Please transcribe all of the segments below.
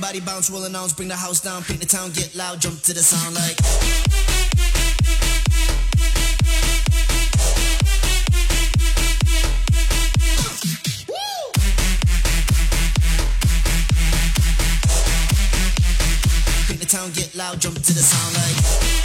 Everybody bounce, rolling arms, bring the house down, paint the town, get loud, jump to the sound like. Paint the town, get loud, jump to the sound like.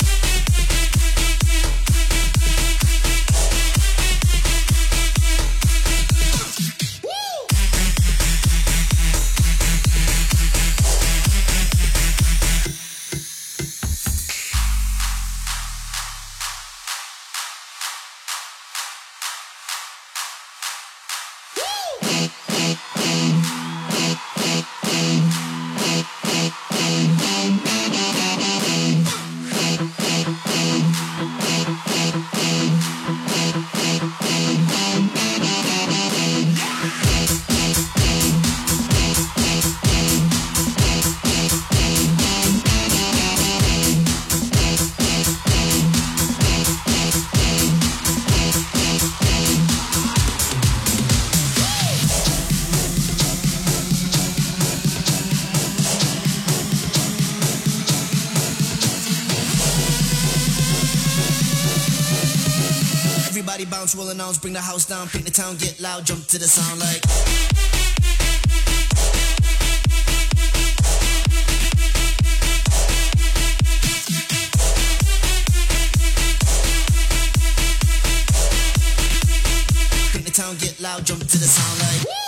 Everybody bounce, rolling arms, bring the house down, paint the town, get loud, jump to the sound like. Paint the town, get loud, jump to the sound like.